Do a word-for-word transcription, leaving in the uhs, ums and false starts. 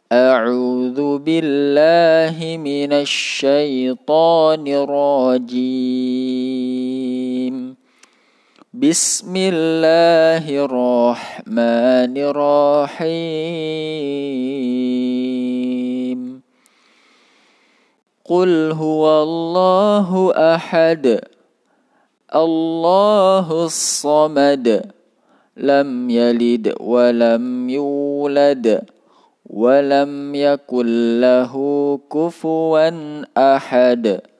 أعوذ بالله من الشيطان الرجيم بسم الله الرحمن الرحيم قل هو الله أحد الله الصمد لم يلد ولم يولد ولم يكن له كفوا أحد.